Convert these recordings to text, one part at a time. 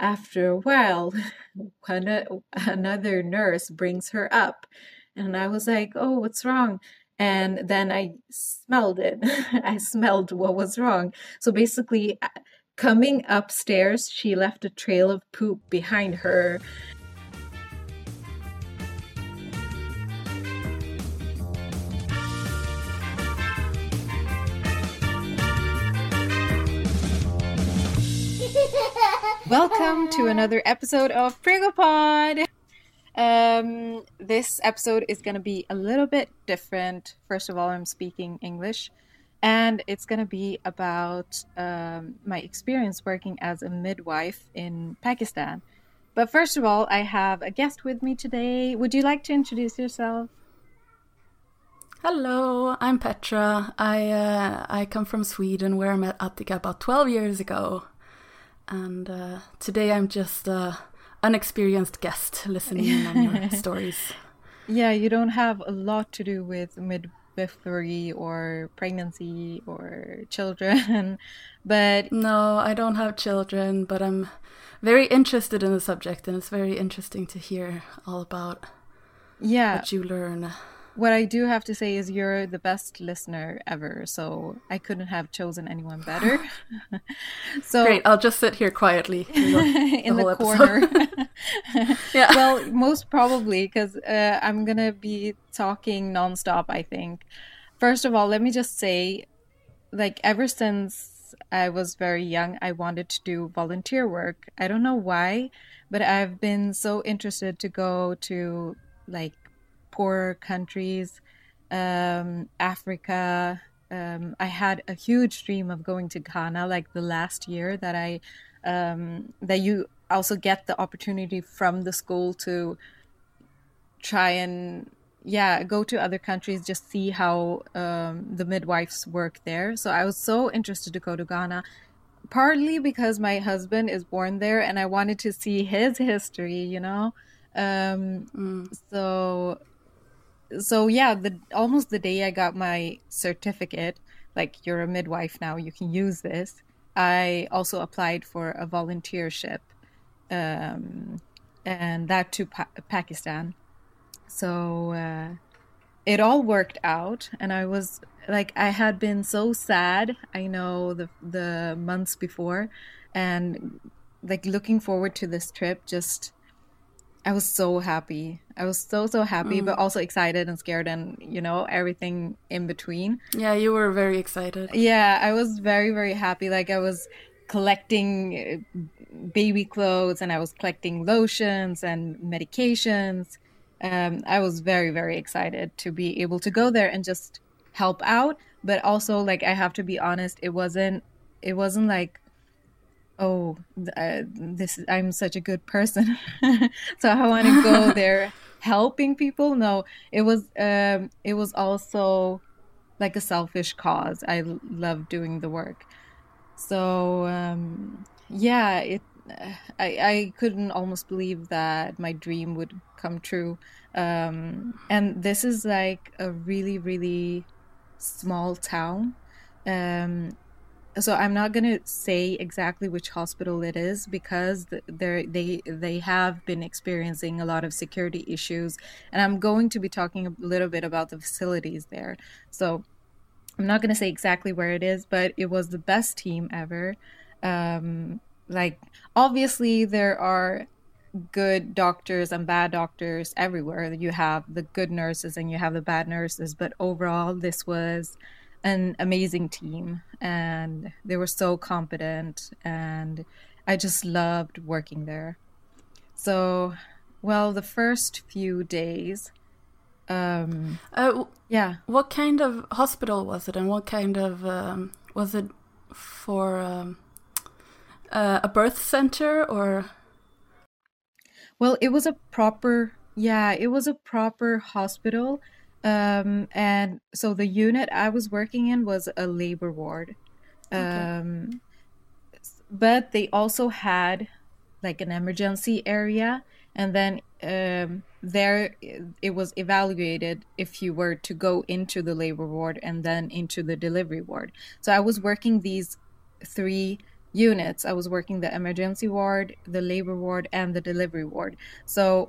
after a while, another nurse brings her up. And I was like, oh, what's wrong? And then I smelled it. I smelled what was wrong. So basically, coming upstairs, she left a trail of poop behind her. Welcome to another episode of Prigopod. This episode is going to be a little bit different. First of all, I'm speaking English, and it's going to be about my experience working as a midwife in Pakistan. But first of all, I have a guest with me today. Would you like to introduce yourself? Hello, I'm Petra. I come from Sweden, where I met Attica about 12 years ago. And today I'm just an unexperienced guest listening in on your stories. Yeah, you don't have a lot to do with midwifery or pregnancy or children, but... No, I don't have children, but I'm very interested in the subject, and it's very interesting to hear all about what you learn. What I do have to say is you're the best listener ever, so I couldn't have chosen anyone better. So great, I'll just sit here quietly in the corner. Yeah. Well, most probably, because I'm going to be talking nonstop, I think. First of all, let me just say, like, ever since I was very young, I wanted to do volunteer work. I don't know why, but I've been so interested to go to, like, poor countries, Africa. I had a huge dream of going to Ghana, like the last year that that you also get the opportunity from the school to try and go to other countries, just see how the midwives work there. So I was so interested to go to Ghana, partly because my husband is born there and I wanted to see his history, you know. So yeah, almost the day I got my certificate, like, you're a midwife now, you can use this, I also applied for a volunteership, and that to Pakistan. So it all worked out, and I was like, I had been so sad, I know, the months before, and like looking forward to this trip, I was so happy. I was so happy, but also excited and scared and, you know, everything in between. Yeah, you were very excited. Yeah, I was very, very happy. Like, I was collecting baby clothes and I was collecting lotions and medications. I was very, very excited to be able to go there and just help out. But also, like, I have to be honest, it wasn't like, oh, I'm such a good person, so I want to go there helping people. No, it was also like a selfish cause. I love doing the work. So I couldn't almost believe that my dream would come true. And this is like a really, really small town. So I'm not going to say exactly which hospital it is, because they have been experiencing a lot of security issues, and I'm going to be talking a little bit about the facilities there. So I'm not going to say exactly where it is, but it was the best team ever. Like, obviously there are good doctors and bad doctors everywhere. You have the good nurses and you have the bad nurses, but overall this was an amazing team, and they were so competent, and I just loved working there. So, well, the first few days, what kind of hospital was it, and what kind of was it for a birth center, or? Well, it was a proper hospital. And so the unit I was working in was a labor ward. Okay. But they also had like an emergency area, and then there it was evaluated if you were to go into the labor ward and then into the delivery ward. So I was working these three units. I was working the emergency ward, the labor ward, and the delivery ward. So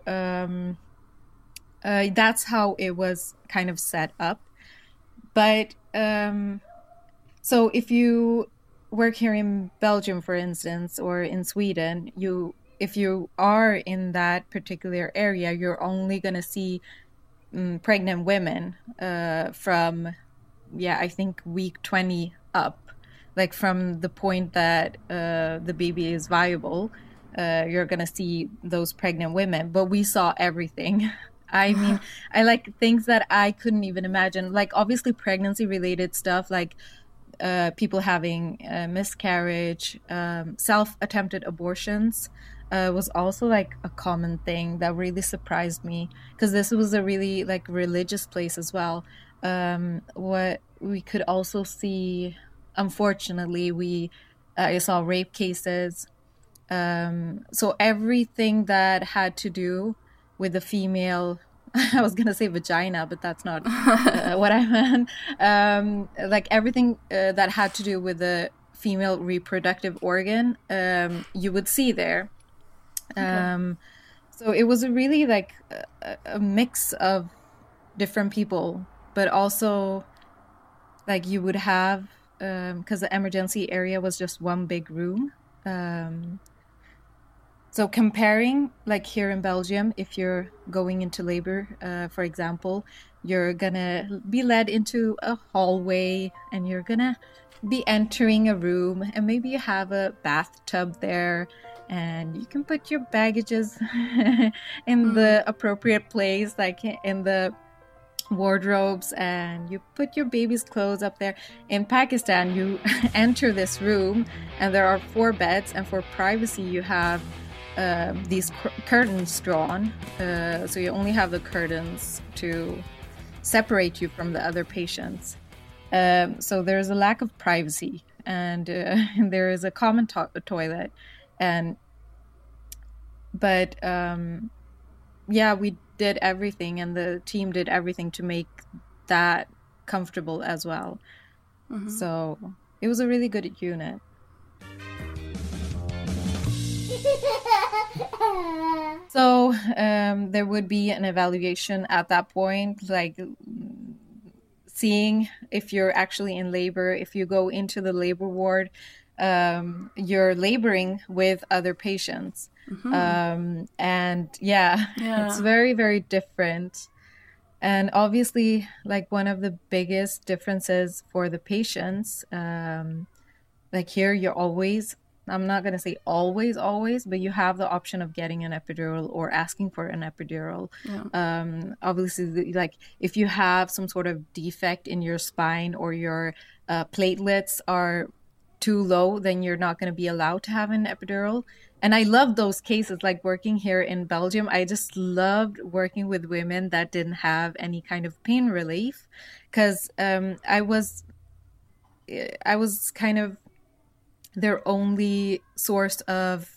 that's how it was kind of set up. But so if you work here in Belgium, for instance, or in Sweden, if you are in that particular area, you're only going to see pregnant women from, I think week 20 up. Like from the point that the baby is viable, you're going to see those pregnant women. But we saw everything. I mean, I like things that I couldn't even imagine. Like obviously pregnancy related stuff, like people having miscarriage, self-attempted abortions was also like a common thing that really surprised me, because this was a really like religious place as well. What we could also see, unfortunately, I saw rape cases. So everything that had to do with the female, I was going to say vagina, but that's not what I meant. Like everything that had to do with the female reproductive organ, you would see there. Okay. So it was a really like a mix of different people, but also like you would have, because the emergency area was just one big room. So comparing, like here in Belgium, if you're going into labor, for example, you're gonna be led into a hallway and you're gonna be entering a room, and maybe you have a bathtub there and you can put your baggages in the appropriate place, like in the wardrobes, and you put your baby's clothes up there. In Pakistan, you enter this room and there are 4 beds, and for privacy you have these curtains drawn, so you only have the curtains to separate you from the other patients. So there's a lack of privacy, and there is a common toilet, but we did everything, and the team did everything to make that comfortable as well. So it was a really good unit. So there would be an evaluation at that point, like seeing if you're actually in labor. If you go into the labor ward, you're laboring with other patients. And it's very, very different. And obviously, like one of the biggest differences for the patients, like here you're always, I'm not going to say always, but you have the option of getting an epidural or asking for an epidural. Obviously, like if you have some sort of defect in your spine or your platelets are too low, then you're not going to be allowed to have an epidural. And I love those cases, like working here in Belgium. I just loved working with women that didn't have any kind of pain relief, because I was kind of their only source of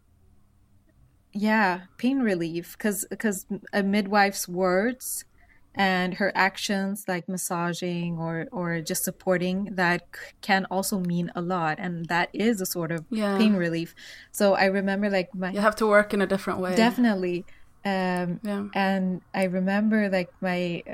pain relief, because a midwife's words and her actions, like massaging or just supporting, that can also mean a lot, and that is a sort of pain relief. So I remember like you have to work in a different way. Definitely. And I remember like my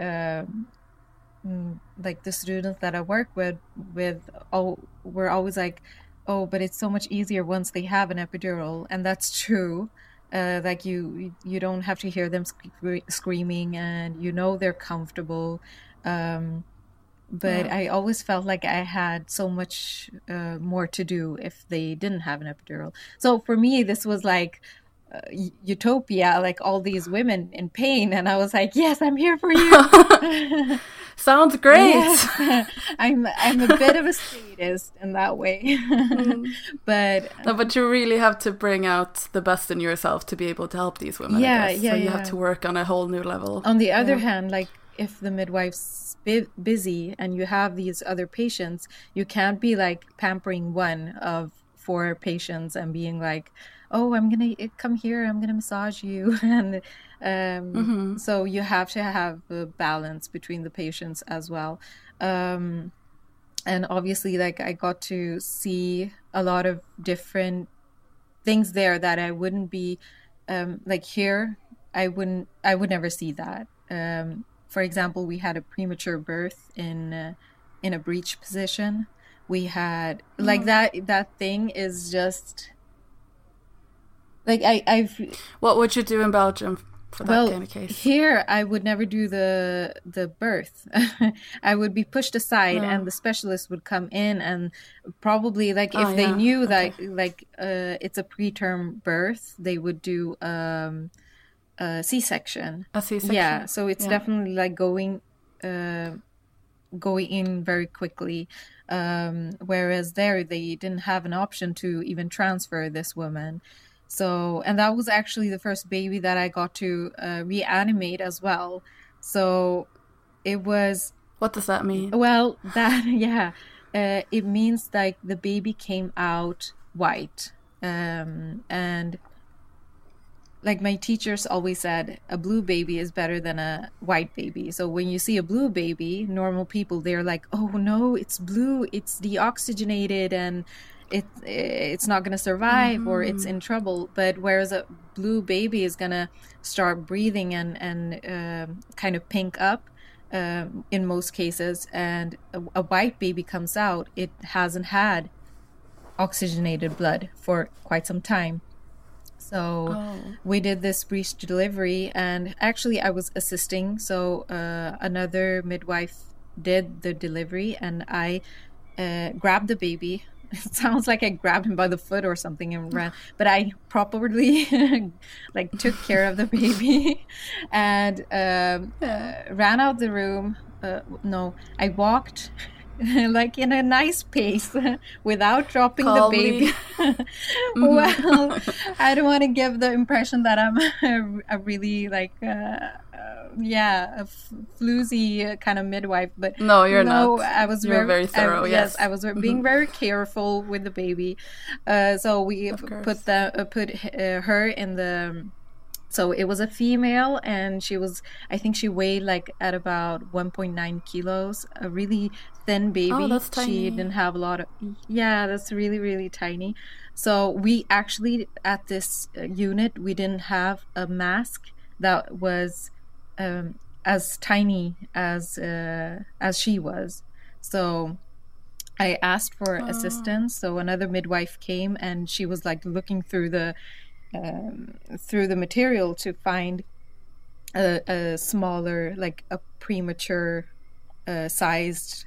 like the students that I work with were always like, oh, but it's so much easier once they have an epidural. And that's true. Like you don't have to hear them screaming, and you know they're comfortable. But I always felt like I had so much more to do if they didn't have an epidural. So for me, this was like utopia, like all these women in pain, and I was like, yes, I'm here for you. Sounds great. Yes. I'm a bit of a sadist in that way. But you really have to bring out the best in yourself to be able to help these women. So you have to work on a whole new level. On the other hand, like if the midwife's busy and you have these other patients, you can't be like pampering one of 4 patients and being like, oh, I'm gonna come here, I'm gonna massage you. And so you have to have a balance between the patients as well. And obviously, like I got to see a lot of different things there that I wouldn't be like here. I would never see that. For example, we had a premature birth in a breech position. We had like that thing is just like I've. What would you do in Belgium for that kind of case? Here I would never do the birth. I would be pushed aside, and the specialist would come in, and probably like if they knew that like it's a preterm birth, they would do a C-section. A C-section. Yeah, so it's definitely like going in very quickly. Whereas there they didn't have an option to even transfer this woman. So, and that was actually the first baby that I got to reanimate as well. So it was... What does that mean? Well, that, yeah. It means like the baby came out white. And like my teachers always said, a blue baby is better than a white baby. So when you see a blue baby, normal people, they're like, oh no, it's blue, it's deoxygenated and it's not going to survive or it's in trouble. But whereas a blue baby is going to start breathing and kind of pink up in most cases, and a white baby comes out, it hasn't had oxygenated blood for quite some time. So we did this breech delivery, and actually I was assisting. So another midwife did the delivery, and I grabbed the baby. It sounds like I grabbed him by the foot or something and ran, but I properly like took care of the baby and ran out the room. No, I walked like in a nice pace without dropping Calmly. the baby. Well, I don't want to give the impression that I'm a really like a floozy kind of midwife, but no, you're not. I was very thorough. Yes, I was being very careful with the baby. So we put her in the. So it was a female, and I think she weighed like at about 1.9 kilos, a really thin baby. Oh, that's tiny. She didn't have a lot of, that's really, really tiny. So we actually, at this unit, we didn't have a mask that was as tiny as she was. So I asked for assistance. So another midwife came, and she was like looking through the material to find a smaller, like a premature sized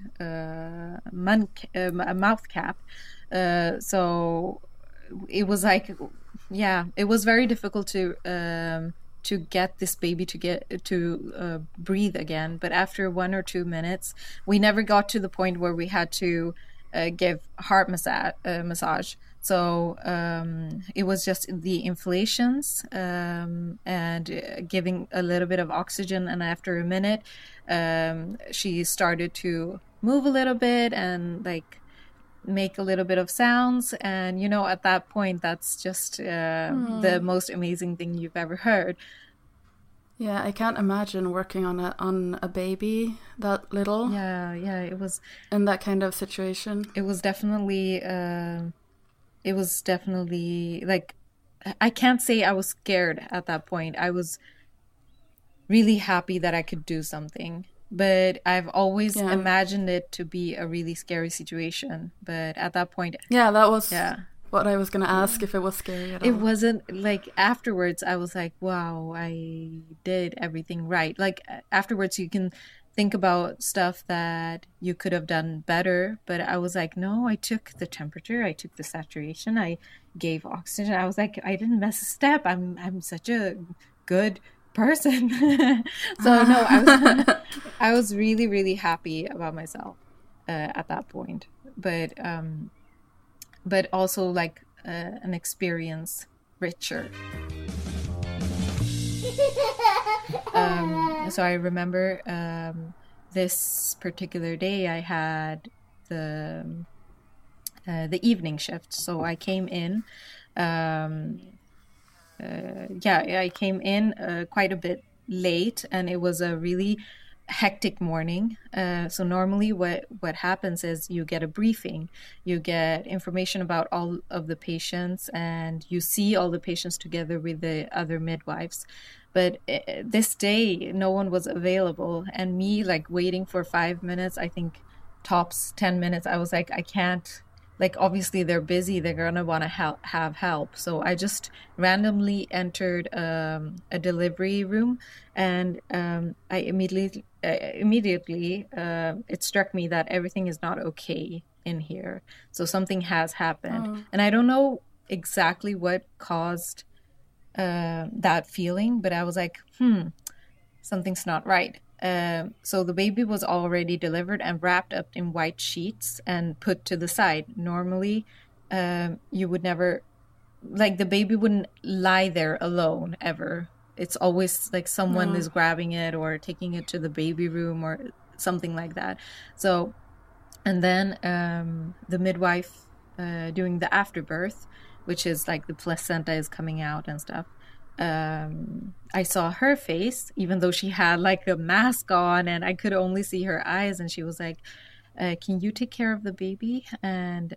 mouth cap. So it was like, it was very difficult to get this baby to breathe again. But after 1 or 2 minutes, we never got to the point where we had to give heart massage. So it was just the inflations and giving a little bit of oxygen. And after a minute, she started to move a little bit and like make a little bit of sounds. And, you know, at that point, that's just the most amazing thing you've ever heard. Yeah, I can't imagine working on a baby that little. Yeah, it was in that kind of situation. It was definitely like, I can't say I was scared at that point. I was really happy that I could do something, but I've always imagined it to be a really scary situation. But at that point, that was what I was going to ask, if it was scary at all. It wasn't. Like afterwards, I was like, wow, I did everything right. Like afterwards, you can think about stuff that you could have done better, but I was like, no, I took the temperature, I took the saturation, I gave oxygen. I was like, I didn't miss a step. I'm such a good person. So no, I was really, really happy about myself at that point. But also like an experience richer. So I remember this particular day I had the evening shift. So I came in, I came in quite a bit late, and it was a really hectic morning. So normally what happens is you get a briefing, you get information about all of the patients, and you see all the patients together with the other midwives. But this day, no one was available, and me like waiting for 5 minutes, I think tops 10 minutes, I was like, I can't, like obviously they're busy, they're gonna want to have help. So I just randomly entered a delivery room, and I immediately it struck me that everything is not okay in here. So something has happened, and I don't know exactly what caused that feeling, but I was like, something's not right. So the baby was already delivered and wrapped up in white sheets and put to the side. Normally, you would never, like the baby wouldn't lie there alone ever. It's always like someone is grabbing it or taking it to the baby room or something like that. So, and then the midwife doing the afterbirth, which is like the placenta is coming out and stuff. I saw her face, even though she had like a mask on and I could only see her eyes, and she was like, can you take care of the baby? And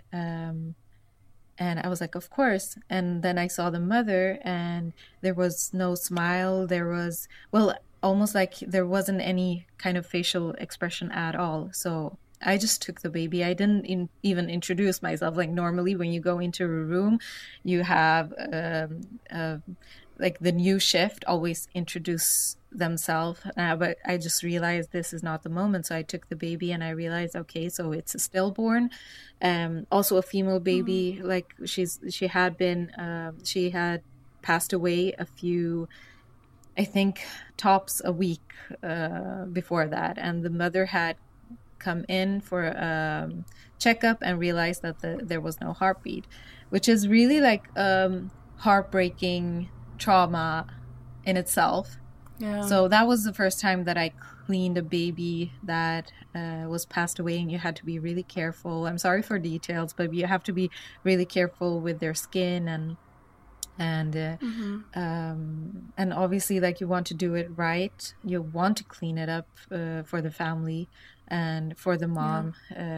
I was like, of course. And then I saw the mother, and there was no smile. There was, well, almost like there wasn't any kind of facial expression at all. So I just took the baby. I didn't even introduce myself. Like normally when you go into a room, you have like the new shift always introduce themselves, but I just realized this is not the moment. So I took the baby, and I realized, okay, so it's a stillborn, also a female baby. Like she had passed away a few, I think tops a week before that, and the mother had come in for a checkup and realized that there was no heartbeat, which is really like heartbreaking trauma in itself. So that was the first time that I cleaned a baby that was passed away, and you had to be really careful. I'm sorry for details, but you have to be really careful with their skin and obviously like you want to do it right. You want to clean it up for the family and for the mom.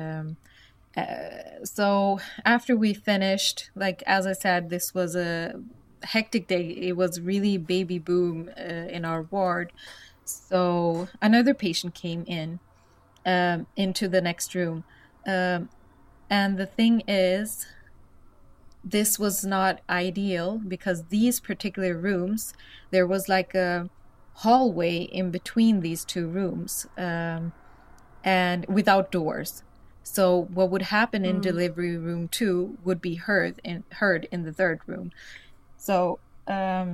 So after we finished, like as I said, this was a hectic day. It was really baby boom in our ward. So another patient came in into the next room, and the thing is, this was not ideal because these particular rooms, there was like a hallway in between these two rooms, and without doors. So what would happen in delivery room 2 would be heard in the third room. So I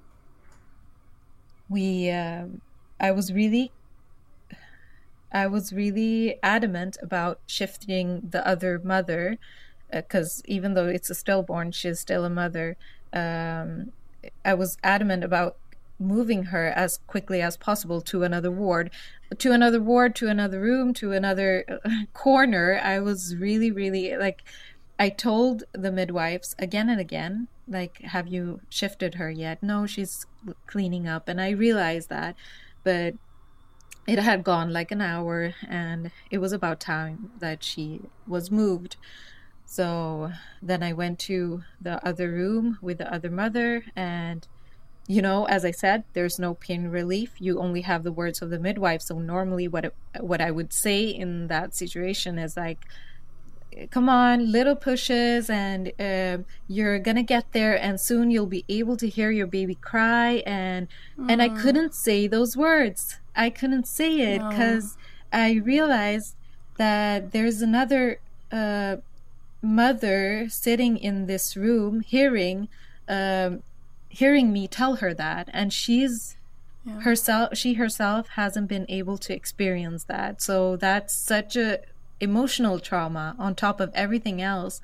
was really adamant about shifting the other mother, because even though it's a stillborn, she's still a mother. I was adamant about moving her as quickly as possible to another ward, to another room, to another corner. I was really, really like, I told the midwives again and again, like, have you shifted her yet? No, she's cleaning up. And I realized that, but it had gone like an hour, and it was about time that she was moved. So then I went to the other room with the other mother, and you know, as I said, there's no pain relief. You only have the words of the midwife. So normally what I would say in that situation is like, come on, little pushes, and you're gonna get there, and soon you'll be able to hear your baby cry. And I couldn't say those words. I couldn't say it because I realized that there's another mother sitting in this room hearing me tell her that, and she herself hasn't been able to experience that. So that's such a emotional trauma on top of everything else.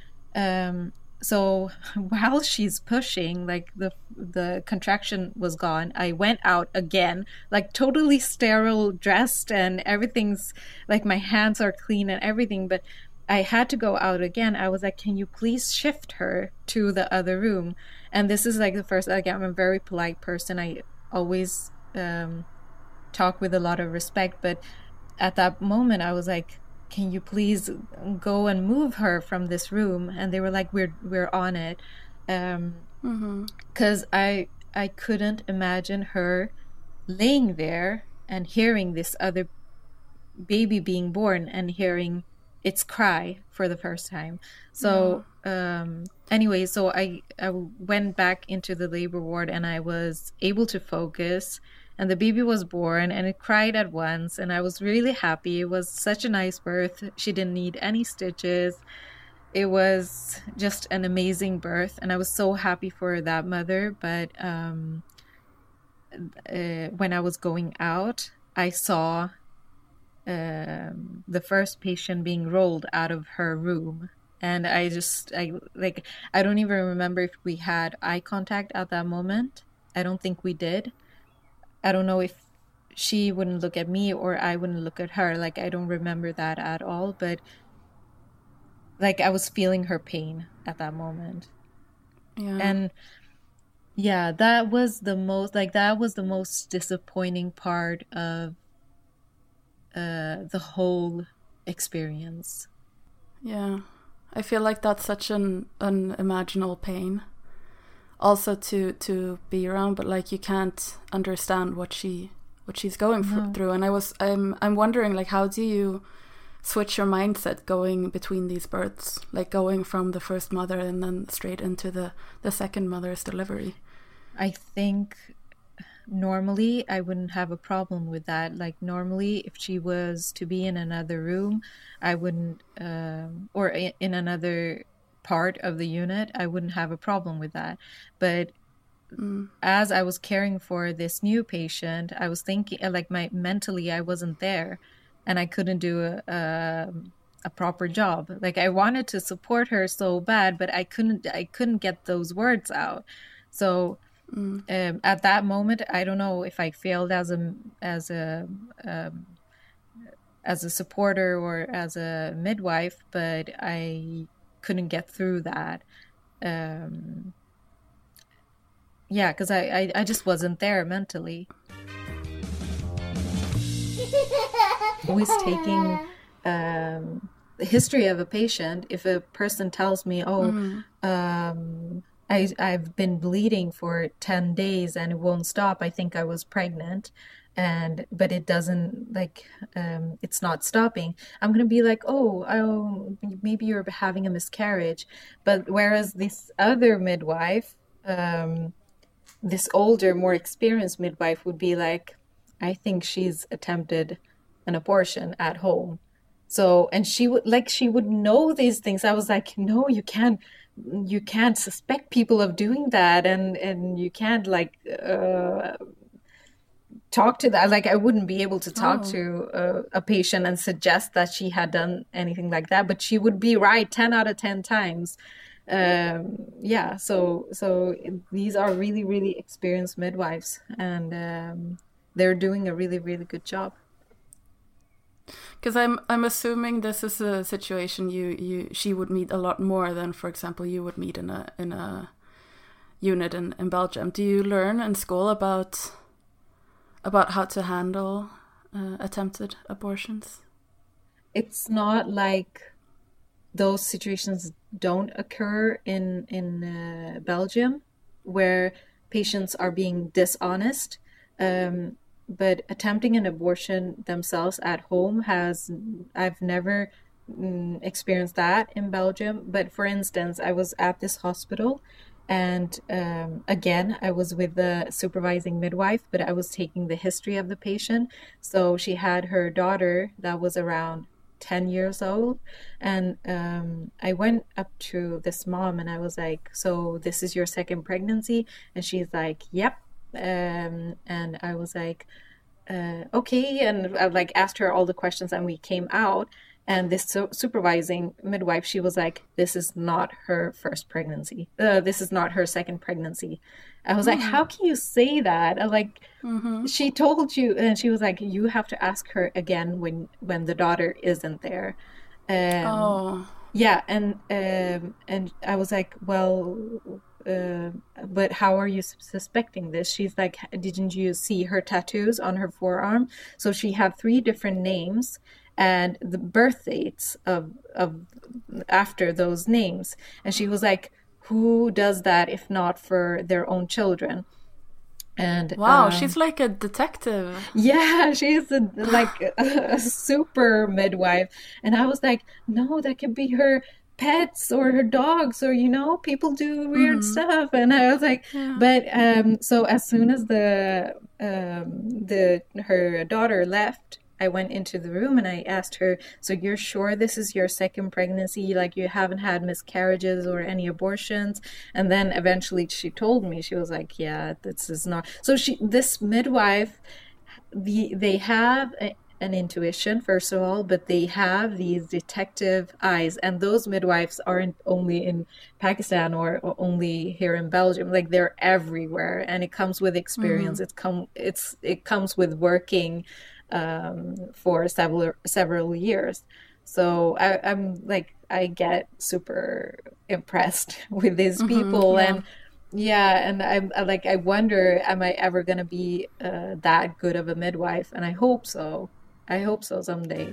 So while she's pushing, like the contraction was gone, I went out again, like totally sterile, dressed, and everything's like my hands are clean and everything, but I had to go out again. I was like, can you please shift her to the other room? And this is like the first, like, I'm a very polite person. I always talk with a lot of respect, but at that moment I was like, can you please go and move her from this room? And they were like, we're on it. Because I couldn't imagine her laying there and hearing this other baby being born and hearing its cry for the first time. So anyway, so I went back into the labor ward and I was able to focus, and the baby was born and it cried at once, and I was really happy. It was such a nice birth. She didn't need any stitches. It was just an amazing birth, and I was so happy for that mother. But when I was going out, I saw the first patient being rolled out of her room, and I don't even remember if we had eye contact at that moment. I don't think we did. I don't know if she wouldn't look at me or I wouldn't look at her. Like, I don't remember that at all, but like I was feeling her pain at that moment. And yeah, that was the most disappointing part of the whole experience. Yeah, I feel like that's such an unimaginable pain also to be around, but like you can't understand what she's going through. And I'm wondering, like, how do you switch your mindset going between these births, like going from the first mother and then straight into the second mother's delivery? I think normally I wouldn't have a problem with that. Like, normally if she was to be in another room, I wouldn't or in another part of the unit, I wouldn't have a problem with that. But as I was caring for this new patient, I was thinking, like, mentally I wasn't there, and I couldn't do a proper job. Like, I wanted to support her so bad, but I couldn't get those words out. So at that moment, I don't know if I failed as a supporter or as a midwife, but I couldn't get through that. Because I just wasn't there mentally. Always taking the history of a patient. If a person tells me, I've been bleeding for 10 days and it won't stop, I think I was pregnant, but it doesn't, like, it's not stopping, I'm gonna be like, oh, maybe you're having a miscarriage. But whereas this other midwife, this older, more experienced midwife, would be like, I think she's attempted an abortion at home. So, and she would know these things. I was like, no, you can't suspect people of doing that, and you can't, like, talk to that. Like, I wouldn't be able to talk to a patient and suggest that she had done anything like that, but she would be right 10 out of 10 times. So these are really, really experienced midwives, and they're doing a really, really good job. Because I'm assuming this is a situation she would meet a lot more than, for example, you would meet in a unit in Belgium. Do you learn in school about how to handle attempted abortions? It's not like those situations don't occur in Belgium, where patients are being dishonest. But attempting an abortion themselves at home I've never experienced that in Belgium. But for instance, I was at this hospital, and again, I was with the supervising midwife, but I was taking the history of the patient. So she had her daughter that was around 10 years old, and I went up to this mom and I was like, so this is your second pregnancy? And she's like, yep. And I was like, okay, and I like asked her all the questions, and we came out, and this supervising midwife, she was like, this is not her first pregnancy, this is not her second pregnancy. I was like, how can you say that? Like, she told you. And she was like, you have to ask her again when the daughter isn't there. Yeah, and I was like, well, but how are you suspecting this? She's like, didn't you see her tattoos on her forearm? So she had three different names and the birth dates of after those names. And she was like, who does that if not for their own children? And Wow, she's like a detective. yeah, she's like a super midwife. And I was like, no, that could be her pets or her dogs, or people do weird stuff. And I was like, Yeah. but so as soon as the her daughter left, I went into the room and I asked her, so you're sure this is your second pregnancy? Like you haven't had miscarriages or any abortions? And then eventually she told me, she was like, yeah, this is not. So this midwife, they have an intuition, first of all, but they have these detective eyes, and those midwives aren't only in Pakistan or only here in Belgium. Like they're everywhere, and it comes with experience. It comes with working for several years. So I'm like, I get super impressed with these people. Yeah. And yeah, and I wonder, am I ever gonna be that good of a midwife? And I hope so. I hope so someday.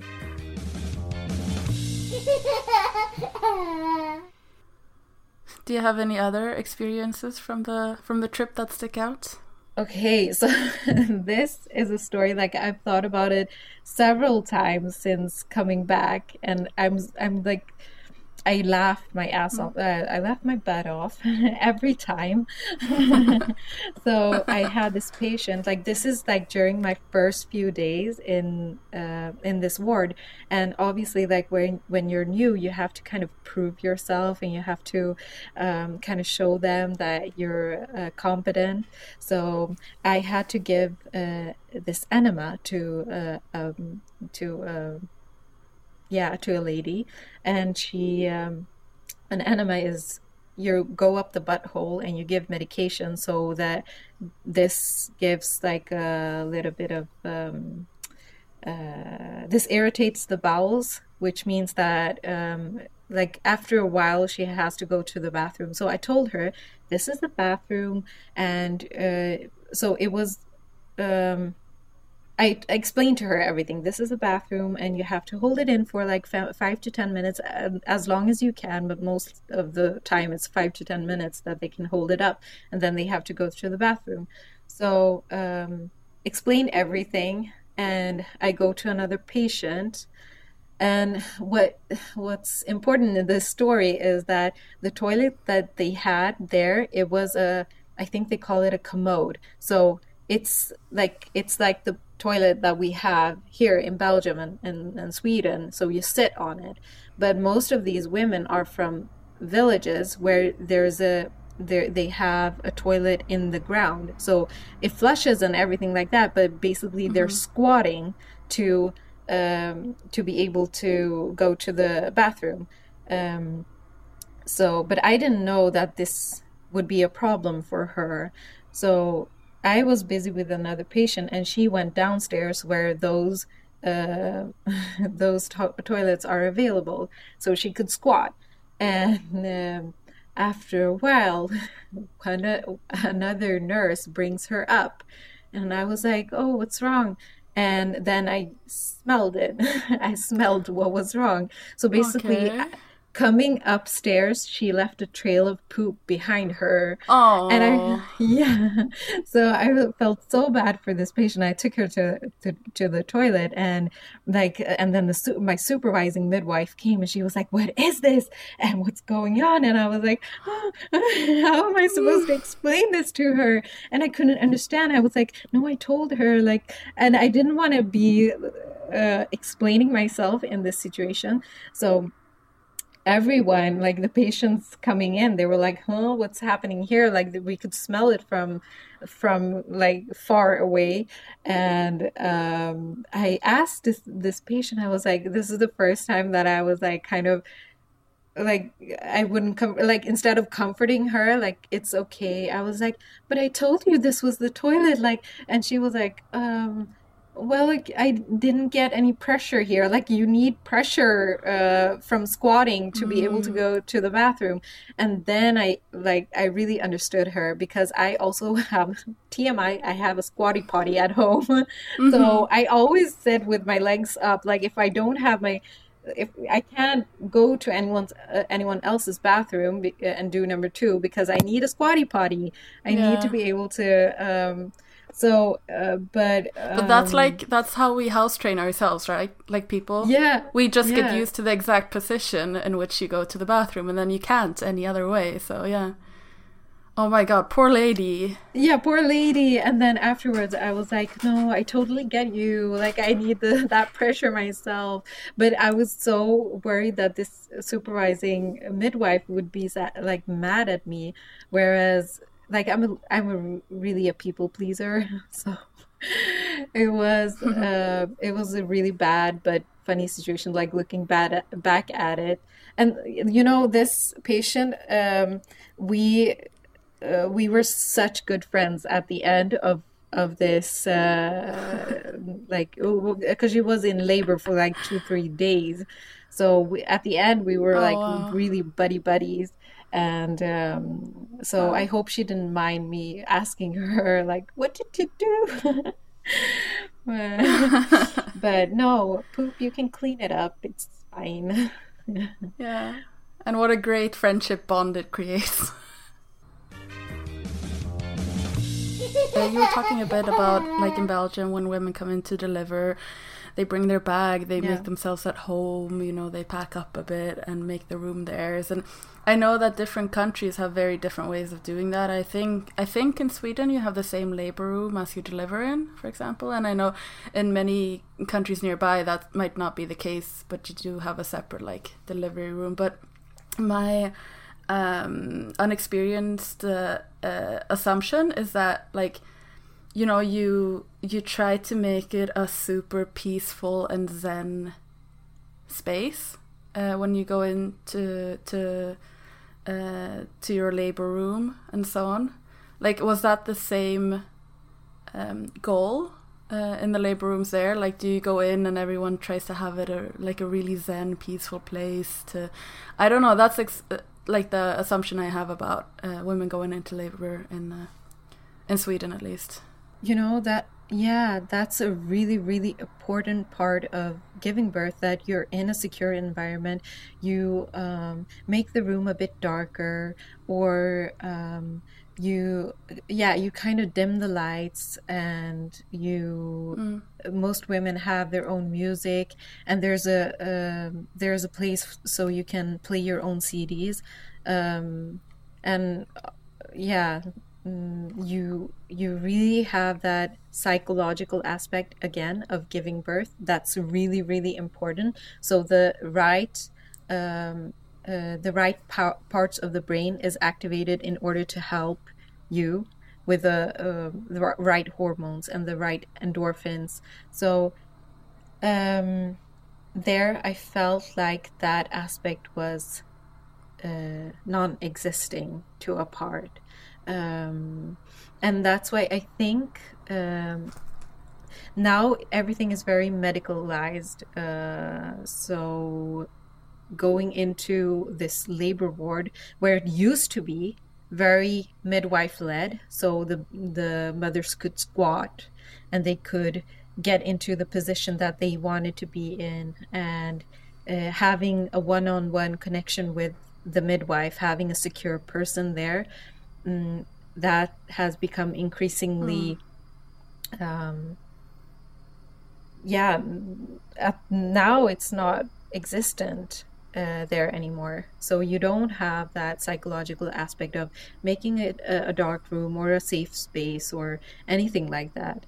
Do you have any other experiences from the trip that stick out? Okay, so this is a story, like I've thought about it several times since coming back, and I'm like, I laughed my ass off. I laughed my butt off every time. So I had this patient. Like this is like during my first few days in this ward, and obviously, like when you're new, you have to kind of prove yourself, and you have to kind of show them that you're competent. So I had to give this enema to yeah, to a lady. And she an enema is, you go up the butthole and you give medication so that this gives like a little bit of this irritates the bowels, which means that like after a while she has to go to the bathroom. So I told her this is the bathroom. And so it was I explained to her everything. This is a bathroom, and you have to hold it in for like 5 to 10 minutes, as long as you can. But most of the time, it's 5 to 10 minutes that they can hold it up, and then they have to go to the bathroom. So, explain everything, and I go to another patient. And what's important in this story is that the toilet that they had there, it was I think they call it a commode. So it's like the toilet that we have here in Belgium and Sweden. So you sit on it. But most of these women are from villages where they have a toilet in the ground. So it flushes and everything like that, but basically they're squatting to be able to go to the bathroom. But I didn't know that this would be a problem for her. So I was busy with another patient, and she went downstairs where those toilets are available, so she could squat. And after a while, another nurse brings her up, and I was like, "Oh, what's wrong?" And then I smelled it. I smelled what was wrong. So basically, Okay. coming upstairs, she left a trail of poop behind her. And Oh. yeah, so I felt so bad for this patient. I took her to the toilet, and then my supervising midwife came, and she was like, "What is this? And what's going on?" And I was like, oh, "How am I supposed to explain this to her?" And I couldn't understand. I was like, "No, I told her," like, and I didn't want to be explaining myself in this situation. So everyone, like the patients coming in, they were like, "Huh, what's happening here?" Like we could smell it from like far away. And I asked this patient, I was like, this is the first time that I was like kind of like, I wouldn't come, like instead of comforting her like it's okay, I was like, "But I told you this was the toilet," like. And she was like, Well, like, I didn't get any pressure here. Like, you need pressure from squatting to be able to go to the bathroom. And then I really understood her, because I also have TMI. I have a squatty potty at home. So I always sit with my legs up. Like, if I can't go to anyone else's bathroom and do number two, because I need a squatty potty. I need to Yeah. be able to But that's how we house train ourselves, right? Like people, yeah, we just get yeah, used to the exact position in which you go to the bathroom, and then you can't any other way. So yeah. Oh my God, poor lady. yeah, poor lady. And then afterwards, I was like, no, I totally get you. Like, I need that pressure myself. But I was so worried that this supervising midwife would be like mad at me, whereas like I'm really a people pleaser, so it was a really bad but funny situation. Like, looking back at it, and this patient, we we were such good friends at the end of this, like, because she was in labor for like 2-3 days. So at the end we were Oh like wow. really buddies. And so I Wow. hope she didn't mind me asking her, like, what did you do? But no, poop, you can clean it up, it's fine. Yeah. And what a great friendship bond it creates. You were talking a bit about, like, in Belgium, when women come in to deliver, they bring their bag, they Yeah. make themselves at home, they pack up a bit and make the room theirs. And I know that different countries have very different ways of doing that. I think in Sweden you have the same labor room as you deliver in, for example. And I know in many countries nearby that might not be the case, but you do have a separate, like, delivery room. But my unexperienced assumption is that, like, you try to make it a super peaceful and zen space when you go into to your labor room and so on. Like, was that the same goal in the labor rooms there? Like, do you go in and everyone tries to have it like a really zen, peaceful place to? I don't know. That's like the assumption I have about women going into labor in Sweden, at least. That's a really, really important part of giving birth, that you're in a secure environment. You make the room a bit darker, or you kind of dim the lights, and most women have their own music, and there's a place so you can play your own CDs. And yeah, you really have that psychological aspect again of giving birth. That's really, really important. So the right parts of the brain is activated in order to help you with the right hormones and the right endorphins. So there I felt like that aspect was non-existing to a part. And that's why I think now everything is very medicalized. So going into this labor ward, where it used to be very midwife led, so the mothers could squat and they could get into the position that they wanted to be in, and having a one-on-one connection with the midwife, having a secure person there, that has become increasingly now it's not existent there anymore. So you don't have that psychological aspect of making it a dark room or a safe space or anything like that.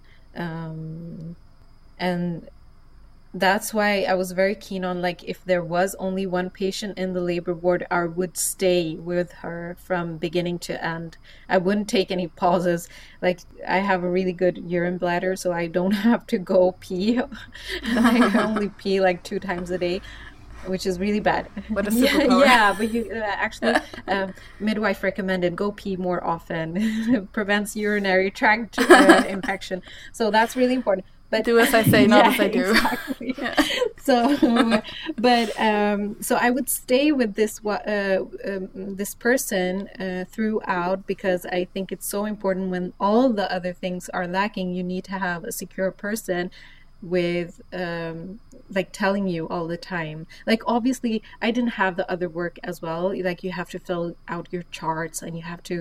And that's why I was very keen on, like, if there was only one patient in the labor ward, I would stay with her from beginning to end. I wouldn't take any pauses. Like, I have a really good urine bladder, so I don't have to go pee. I only pee like 2 times a day, which is really bad. What a Yeah, superpower. yeah, but you actually, midwife recommended go pee more often. It prevents urinary tract infection. So that's really important. But do as I say, not as I do. Exactly. So, but so I would stay with this person throughout, because I think it's so important. When all the other things are lacking, you need to have a secure person with like telling you all the time. Like obviously I didn't have the other work as well, like you have to fill out your charts and you have to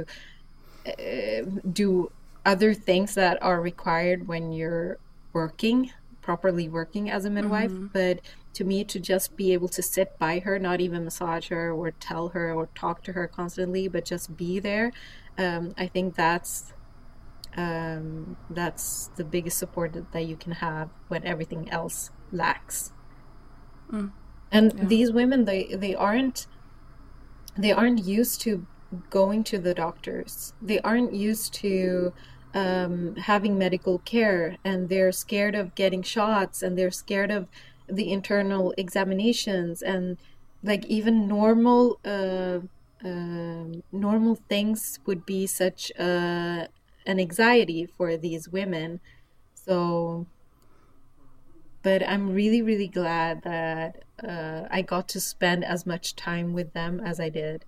do other things that are required when you're properly working as a midwife. But to me, to just be able to sit by her, not even massage her or tell her or talk to her constantly, but just be there, I think that's the biggest support that you can have when everything else lacks. And these women, they aren't used to going to the doctors. They aren't used to having medical care, and they're scared of getting shots, and they're scared of the internal examinations, and like even normal things would be such an anxiety for these women. So, but I'm really, really glad that I got to spend as much time with them as I did.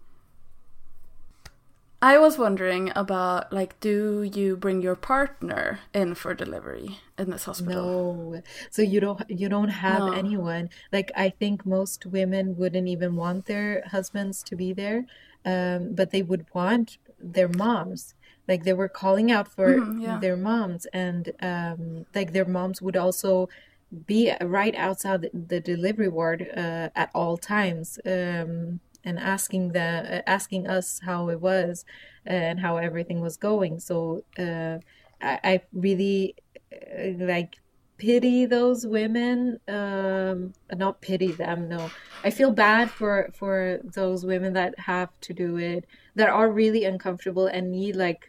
I was wondering about, like, do you bring your partner in for delivery in this hospital? No. So you don't have anyone. Like, I think most women wouldn't even want their husbands to be there, but they would want their moms. Like, they were calling out for their moms, and like their moms would also be right outside the delivery ward at all times. And asking us how it was and how everything was going. So I really like pity those women. Not pity them, no. I feel bad for those women that have to do it, that are really uncomfortable and need like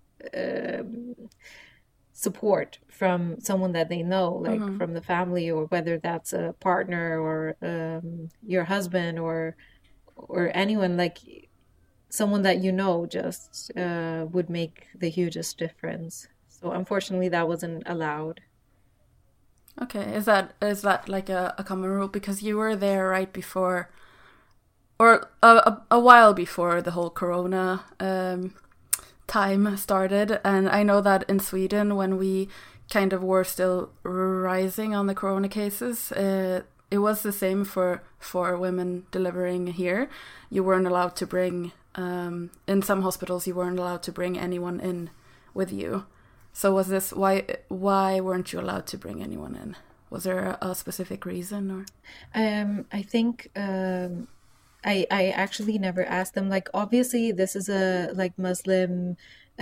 support from someone that they know, like from the family, or whether that's a partner or your husband or anyone, like someone that you know, just would make the hugest difference. So unfortunately that wasn't allowed. Okay, is that like a common rule? Because you were there right before, or a while before the whole corona time started, and I know that in Sweden, when we kind of were still rising on the corona cases, it was the same for women delivering here. You weren't allowed to bring, in some hospitals, you weren't allowed to bring anyone in with you. So was this, why weren't you allowed to bring anyone in? Was there a specific reason, or? I think I actually never asked them. Like, obviously this is a like Muslim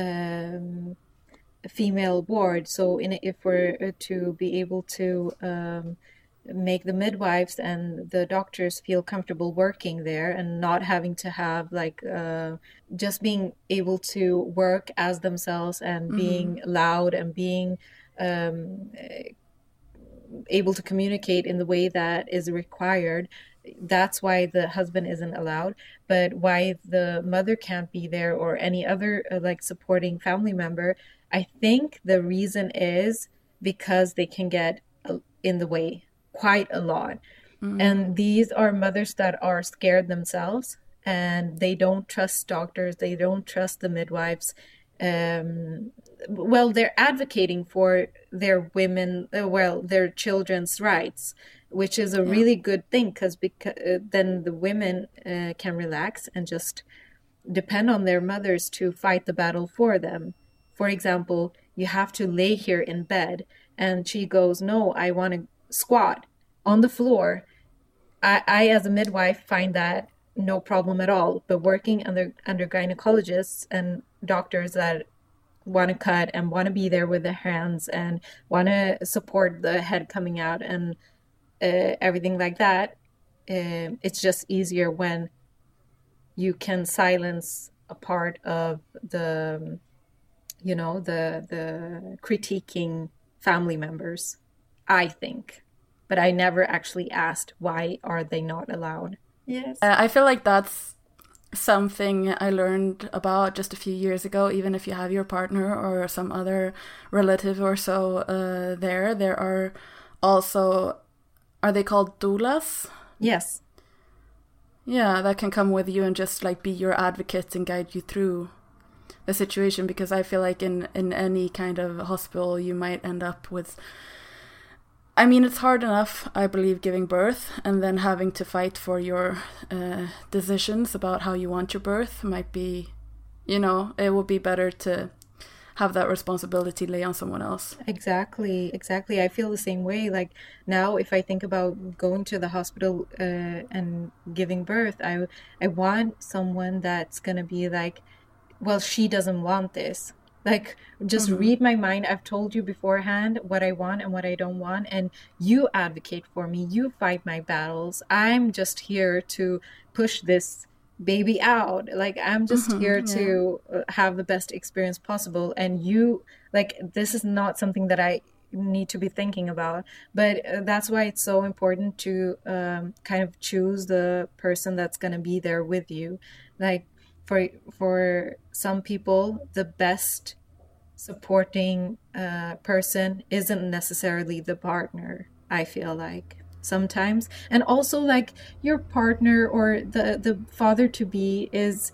female ward, so if we're to be able to make the midwives and the doctors feel comfortable working there and not having to have like just being able to work as themselves and being loud and being able to communicate in the way that is required. That's why the husband isn't allowed. But why the mother can't be there, or any other like supporting family member, I think the reason is because they can get in the way quite a lot. And these are mothers that are scared themselves, and they don't trust doctors, they don't trust the midwives. Well, they're advocating for their their children's rights, which is a really good thing, because then the women can relax and just depend on their mothers to fight the battle for them. For example, you have to lay here in bed, and she goes, no, I want to squat on the floor. I as a midwife find that no problem at all, but working under gynecologists and doctors that want to cut and want to be there with their hands and want to support the head coming out and everything like that, it's just easier when you can silence a part of the the critiquing family members, I think. But I never actually asked, why are they not allowed? Yes. I feel like that's something I learned about just a few years ago. Even if you have your partner or some other relative or so there are also, are they called doulas? Yes. Yeah, that can come with you and just like be your advocate and guide you through the situation, because I feel like in any kind of hospital you might end up with, I mean, it's hard enough, I believe, giving birth, and then having to fight for your decisions about how you want your birth might be, you know, it would be better to have that responsibility lay on someone else. Exactly. I feel the same way. Like now, if I think about going to the hospital and giving birth, I want someone that's gonna be like, well, she doesn't want this. Like, just read my mind. I've told you beforehand what I want and what I don't want, and you advocate for me. You fight my battles. I'm just here to push this baby out. Like, I'm just here to have the best experience possible. And you, like, this is not something that I need to be thinking about. But that's why it's so important to kind of choose the person that's going to be there with you. Like, for some people, the best supporting person isn't necessarily the partner, I feel like sometimes. And also, like, your partner or the father to be is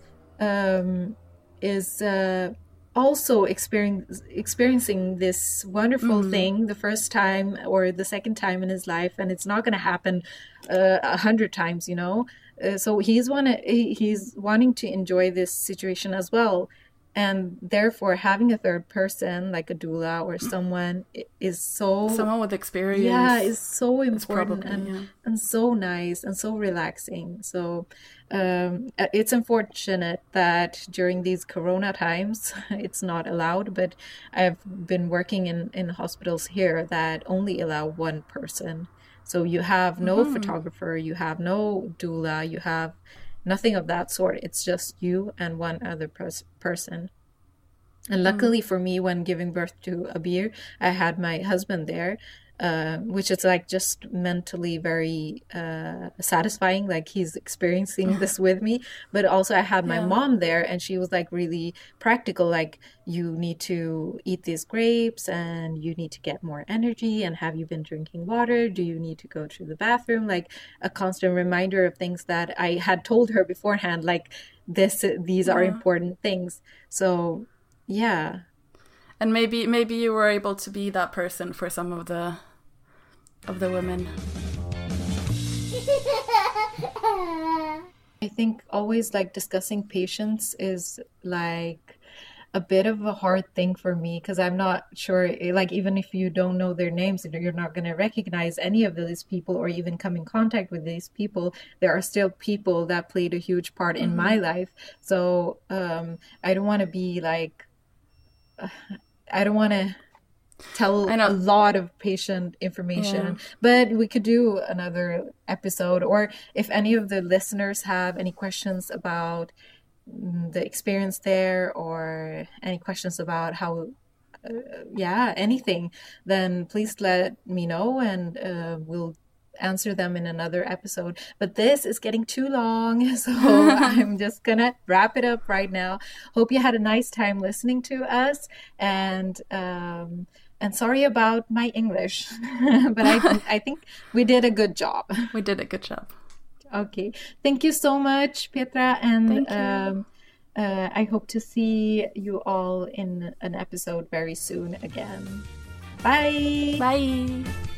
also experiencing this wonderful thing the first time or the second time in his life, and it's not going to happen 100 times, you know. So he's wanting to enjoy this situation as well, and therefore having a third person like a doula or someone is someone with experience. Yeah, is so important probably, and so nice and so relaxing. So it's unfortunate that during these corona times it's not allowed, but I've been working in hospitals here that only allow one person. So you have no photographer, you have no doula, you have nothing of that sort. It's just you and one other person. And luckily for me, when giving birth to Abir, I had my husband there, which is like just mentally very satisfying. Like he's experiencing this with me. But also I had my mom there, and she was like really practical. Like, you need to eat these grapes and you need to get more energy. And have you been drinking water? Do you need to go to the bathroom? Like a constant reminder of things that I had told her beforehand. Like these are important things. So yeah. And maybe you were able to be that person for some of the women. I think always like discussing patients is like a bit of a hard thing for me, because I'm not sure, like, even if you don't know their names, you're not going to recognize any of these people or even come in contact with these people. There are still people that played a huge part in my life. So I don't want to be like, I don't want to tell a lot of patient information, but we could do another episode. Or if any of the listeners have any questions about the experience there, or any questions about how anything, then please let me know, and we'll answer them in another episode. But this is getting too long, so I'm just gonna wrap it up right now. Hope you had a nice time listening to us, and sorry about my English, but I think we did a good job. We did a good job. Okay, thank you so much, Petra, and I hope to see you all in an episode very soon again. Bye. Bye.